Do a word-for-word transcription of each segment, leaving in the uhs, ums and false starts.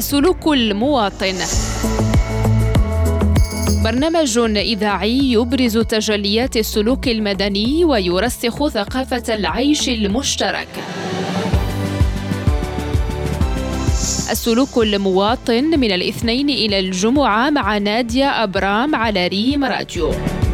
السلوك المواطن، برنامج إذاعي يبرز تجليات السلوك المدني ويرسخ ثقافة العيش المشترك. السلوك المواطن من الاثنين إلى الجمعة مع نادية أبرام على ريم راديو.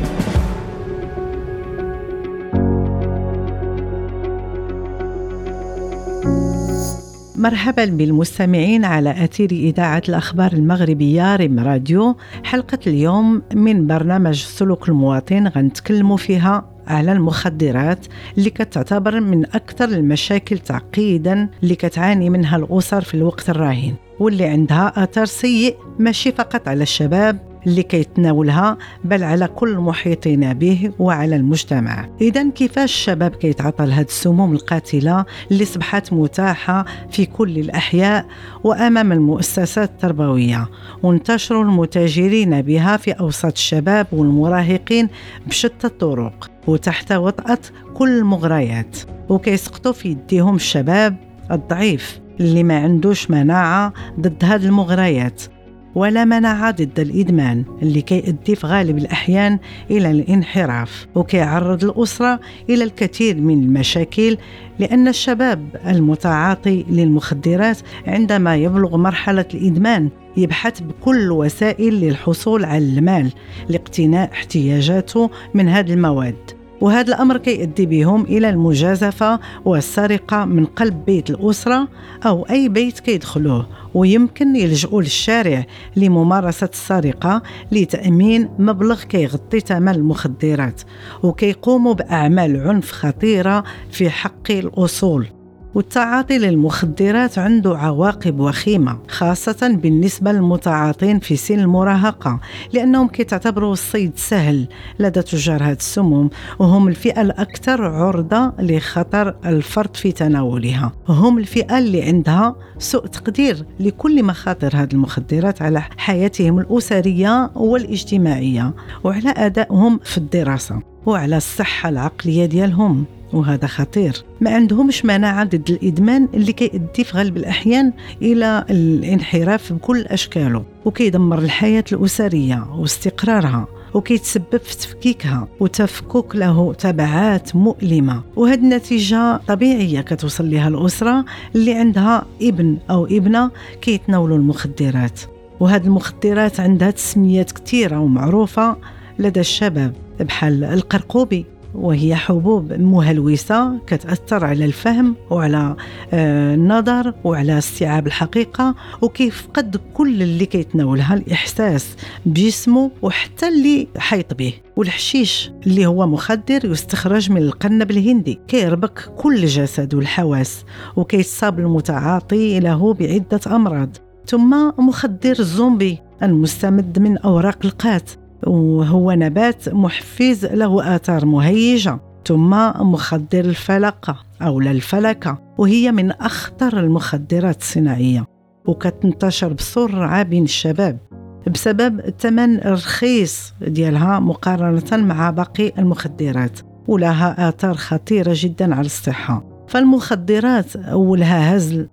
مرحبا بالمستمعين على أثير إذاعة الأخبار المغربية ريم راديو. حلقة اليوم من برنامج سلوك المواطن غنتكلموا فيها على المخدرات اللي كتعتبر من أكثر المشاكل تعقيدا اللي كتعاني منها الأسر في الوقت الراهن، واللي عندها أثر سيء ماشي فقط على الشباب اللي كيتناولها بل على كل المحيطين به وعلى المجتمع. إذن كيفاش الشباب كيتعاطى لهذه السموم القاتلة اللي صبحت متاحة في كل الأحياء وأمام المؤسسات التربوية، وانتشروا المتاجرين بها في أوساط الشباب والمراهقين بشتى الطرق وتحت وطأة كل المغريات، وكيسقطوا في يديهم الشباب الضعيف اللي ما عندوش مناعة ضد هذه المغريات ولا مناعة ضد الإدمان اللي كيؤدي في غالب الأحيان إلى الانحراف، وكيعرض الأسرة إلى الكثير من المشاكل، لأن الشباب المتعاطي للمخدرات عندما يبلغ مرحلة الإدمان يبحث بكل الوسائل للحصول على المال لاقتناء احتياجاته من هذه المواد، وهذا الأمر كيؤدي بهم إلى المجازفة والسرقة من قلب بيت الأسرة أو أي بيت كيدخلوه، ويمكن يلجؤوا للشارع لممارسة السرقة لتأمين مبلغ كيغطي ثمن المخدرات، وكيقوموا بأعمال عنف خطيرة في حق الأصول. والتعاطي للمخدرات عنده عواقب وخيمة خاصة بالنسبة للمتعاطين في سن المراهقة، لأنهم كيتعتبروا الصيد سهل لدى تجار هذه السموم، وهم الفئة الأكثر عرضة لخطر الفرط في تناولها، هم الفئة اللي عندها سوء تقدير لكل مخاطر هذه المخدرات على حياتهم الأسرية والاجتماعية وعلى أدائهم في الدراسة وعلى الصحة العقلية ديالهم، وهذا خطير. ما عندهمش مناعة ضد الإدمان اللي كيؤدي في غالب الأحيان إلى الانحراف بكل أشكاله، وكيدمر الحياة الأسرية واستقرارها، وكيتسبب في تفكيكها وتفكك له تبعات مؤلمة. وهذه النتيجة طبيعية كتوصل لها الأسرة اللي عندها ابن أو ابنة كيتناولوا المخدرات، وهذه المخدرات عندها تسميات كثيرة ومعروفة لدى الشباب، بحال القرقوبي، وهي حبوب مهلوسة كتأثر على الفهم وعلى آه النظر وعلى استيعاب الحقيقة، وكيفقد كل اللي كيتناولها الإحساس بجسمه وحتى اللي حيط به. والحشيش اللي هو مخدر يستخرج من القنب الهندي كيربك كل الجسد والحواس، وكيصاب المتعاطي له بعدة أمراض. ثم مخدر الزومبي المستمد من أوراق القات، وهو نبات محفز له آثار مهيجة. ثم مخدر الفلقة أو الفلكة، وهي من أخطر المخدرات الصناعية، وكتنتشر بسرعة بين الشباب بسبب الثمن الرخيص ديالها مقارنة مع باقي المخدرات، ولها آثار خطيرة جدا على الصحة. فالمخدرات أولها هزل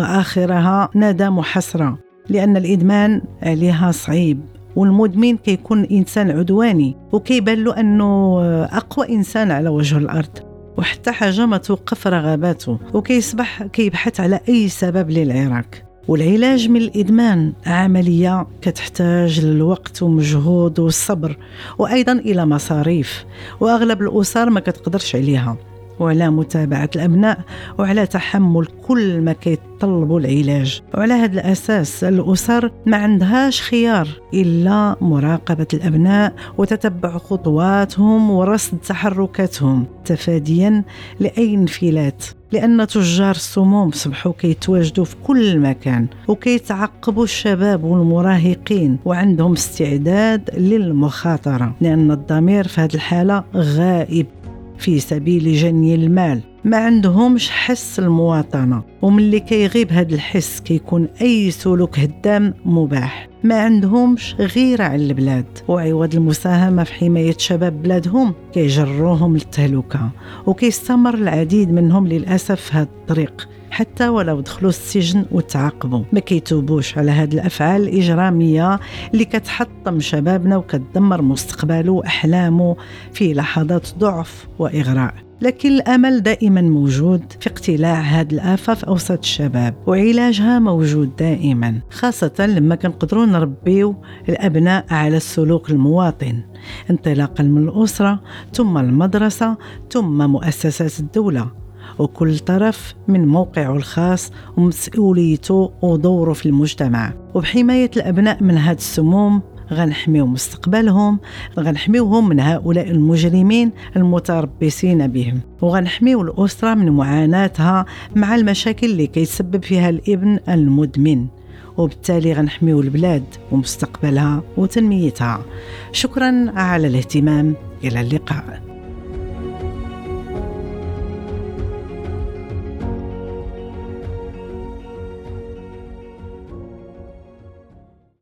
وآخرها ندم وحسرة، لأن الإدمان عليها صعيب، والمدمن كيكون إنسان عدواني وكيبان له أنه أقوى إنسان على وجه الأرض، وحتى حاجة ما توقف رغباته، وكيصبح كيبحث على أي سبب للعراك. والعلاج من الإدمان عملية كتحتاج للوقت ومجهود والصبر، وأيضا إلى مصاريف، وأغلب الأسر ما كتقدرش عليها، وعلى متابعة الأبناء وعلى تحمل كل ما كيتطلبوا العلاج. وعلى هذا الأساس الأسر ما عندهاش خيار إلا مراقبة الأبناء وتتبع خطواتهم ورصد تحركاتهم تفاديا لأي انفلات، لأن تجار السموم صبحوا كيتواجدوا في كل مكان وكيتعقبوا الشباب والمراهقين، وعندهم استعداد للمخاطرة، لأن الضمير في هذه الحالة غائب في سبيل جني المال. ما عندهمش حس المواطنة، ومن اللي كيغيب هذا الحس كيكون أي سلوك هدام مباح. ما عندهمش غيرة على البلاد، وعوض المساهمة في حماية شباب بلادهم كيجروهم للتهلكة، وكيستمر العديد منهم للأسف في هذا الطريق حتى ولو دخلوا السجن وتعاقبوا. ما كيتوبوش على هذه الأفعال الإجرامية اللي كتحطم شبابنا وكتدمر مستقبله وأحلامه في لحظات ضعف وإغراء. لكن الأمل دائما موجود في اقتلاع هذه الآفة في أوسط الشباب، وعلاجها موجود دائما، خاصة لما كنقدروا نربيو الأبناء على السلوك المواطن انطلاقا من الأسرة ثم المدرسة ثم مؤسسات الدولة، وكل طرف من موقعه الخاص ومسؤوليته ودوره في المجتمع. وبحماية الأبناء من هذه السموم غنحميو مستقبلهم، غنحميوهم من هؤلاء المجرمين المتربصين بهم، وغنحميو الأسرة من معاناتها مع المشاكل اللي كيسبب فيها الابن المدمن، وبالتالي غنحميو البلاد ومستقبلها وتنميتها. شكرا على الاهتمام، إلى اللقاء.